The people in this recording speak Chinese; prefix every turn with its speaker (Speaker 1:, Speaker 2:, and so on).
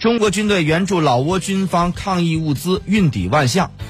Speaker 1: 中国军队援助老挝军方抗疫物资运抵万象。